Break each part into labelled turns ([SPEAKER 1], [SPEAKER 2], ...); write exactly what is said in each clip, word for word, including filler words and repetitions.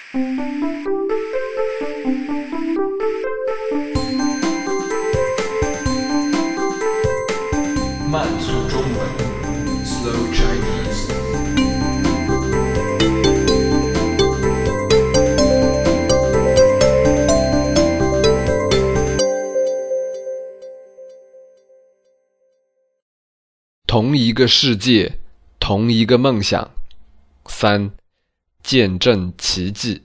[SPEAKER 1] 慢速中文 Slow Chinese。
[SPEAKER 2] 同一个世界，同一个梦想。三，见证奇迹。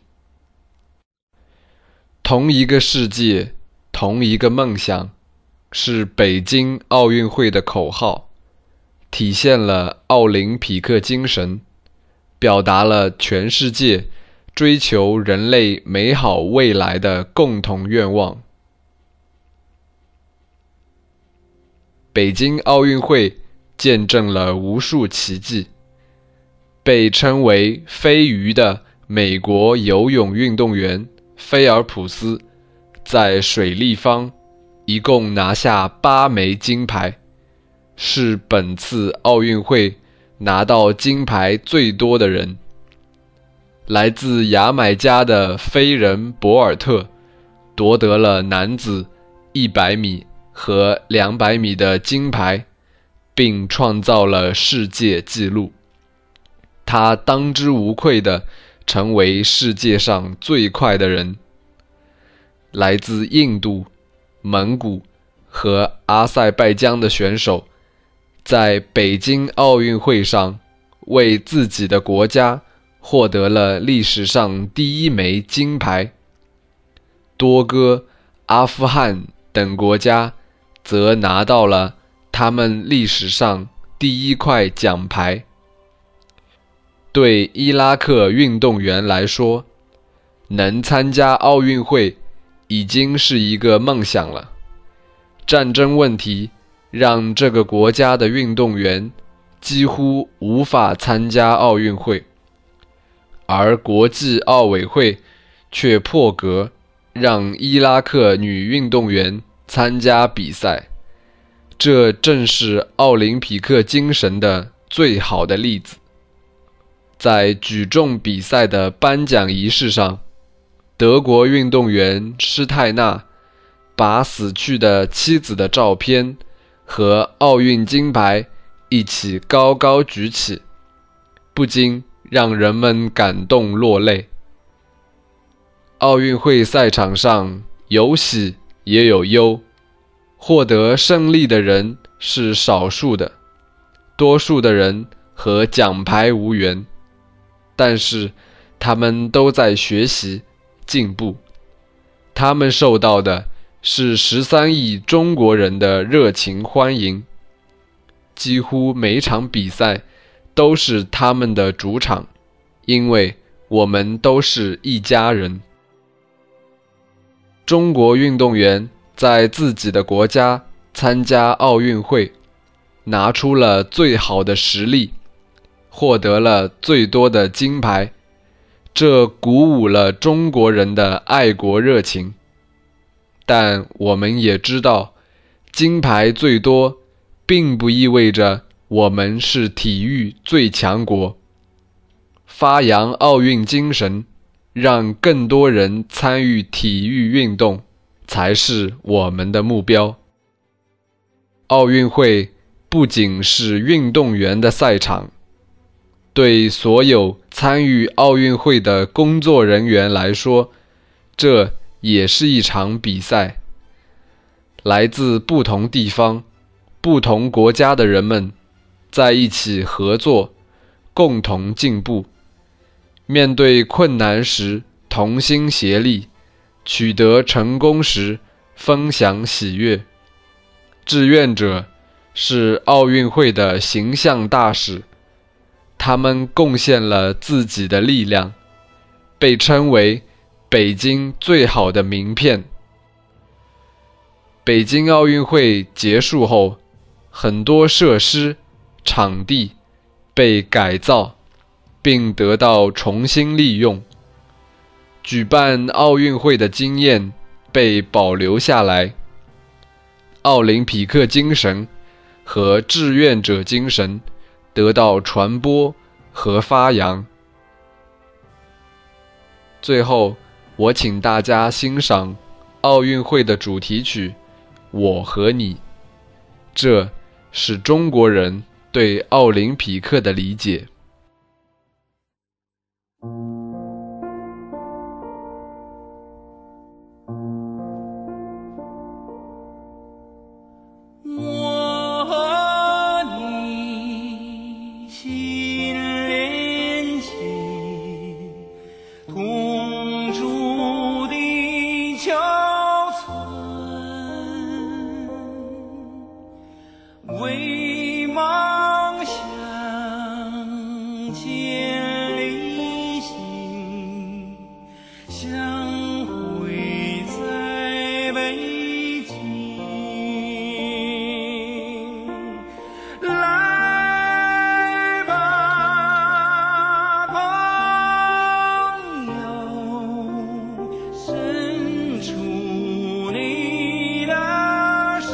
[SPEAKER 2] 同一个世界，同一个梦想，是北京奥运会的口号，体现了奥林匹克精神，表达了全世界追求人类美好未来的共同愿望。北京奥运会见证了无数奇迹，被称为飞鱼的美国游泳运动员菲尔普斯在水立方一共拿下八枚金牌，是本次奥运会拿到金牌最多的人。来自牙买加的飞人博尔特夺得了男子一百米和两百米的金牌，并创造了世界纪录。他当之无愧地成为世界上最快的人。来自印度、蒙古和阿塞拜疆的选手在北京奥运会上为自己的国家获得了历史上第一枚金牌。多哥、阿富汗等国家则拿到了他们历史上第一块奖牌。对伊拉克运动员来说，能参加奥运会已经是一个梦想了。战争问题让这个国家的运动员几乎无法参加奥运会，而国际奥委会却破格让伊拉克女运动员参加比赛。这正是奥林匹克精神的最好的例子。在举重比赛的颁奖仪式上，德国运动员施泰纳把死去的妻子的照片和奥运金牌一起高高举起，不禁让人们感动落泪。奥运会赛场上有喜也有忧，获得胜利的人是少数的，多数的人和奖牌无缘，但是他们都在学习进步。他们受到的是十三亿中国人的热情欢迎，几乎每场比赛都是他们的主场，因为我们都是一家人。中国运动员在自己的国家参加奥运会，拿出了最好的实力，获得了最多的金牌，这鼓舞了中国人的爱国热情。但我们也知道，金牌最多并不意味着我们是体育最强国。发扬奥运精神，让更多人参与体育运动，才是我们的目标。奥运会不仅是运动员的赛场，对所有参与奥运会的工作人员来说，这也是一场比赛。来自不同地方、不同国家的人们在一起合作，共同进步。面对困难时同心协力，取得成功时分享喜悦。志愿者是奥运会的形象大使，他们贡献了自己的力量，被称为北京最好的名片。北京奥运会结束后，很多设施、场地被改造，并得到重新利用。举办奥运会的经验被保留下来，奥林匹克精神和志愿者精神得到传播和发扬。 最后，我请大家欣赏奥运会的主题曲《我和你》，这是中国人对奥林匹克的理解。
[SPEAKER 3] 为梦想千里行，相会在北京。来吧，朋友，伸出你的手。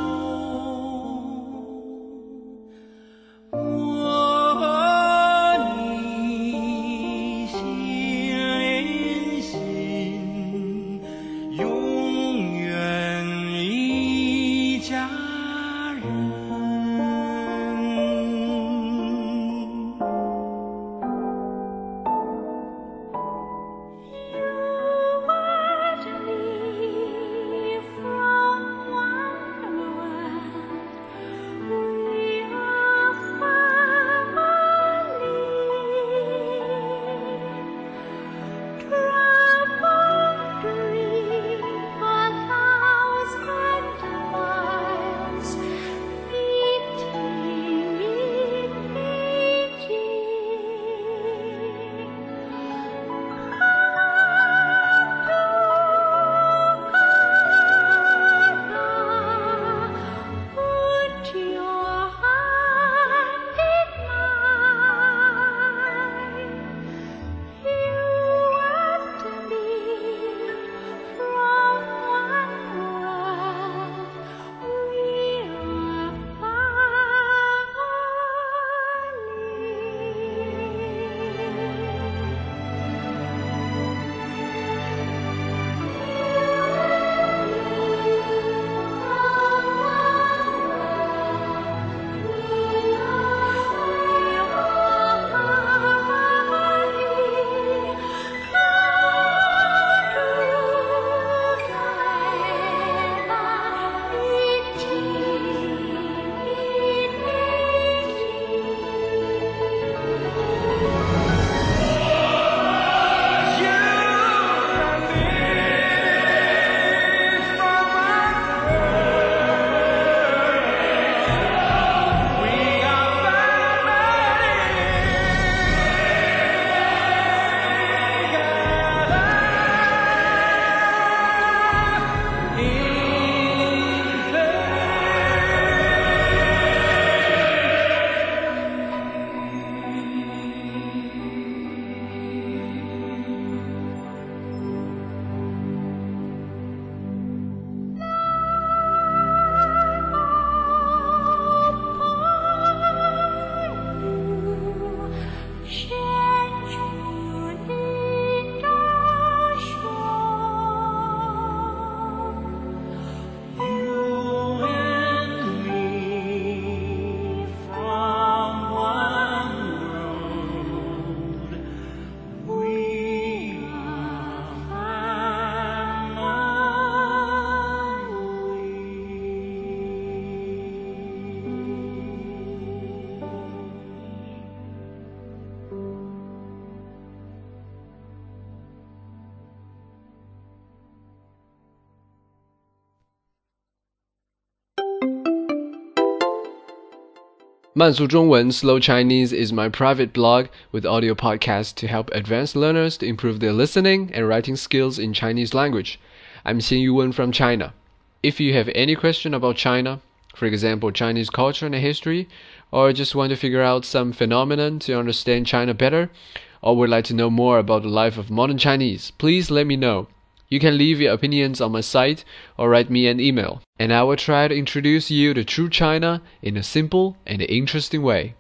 [SPEAKER 2] 慢速中文 Slow Chinese is my private blog with audio podcasts to help advanced learners to improve their listening and writing skills in Chinese language. I'm Xin Yuwen from China. If you have any question about China, for example Chinese culture and history, or just want to figure out some phenomenon to understand China better, or would like to know more about the life of modern Chinese, please let me know. You can leave your opinions on my site or write me an email, and I will try to introduce you to true China in a simple and interesting way.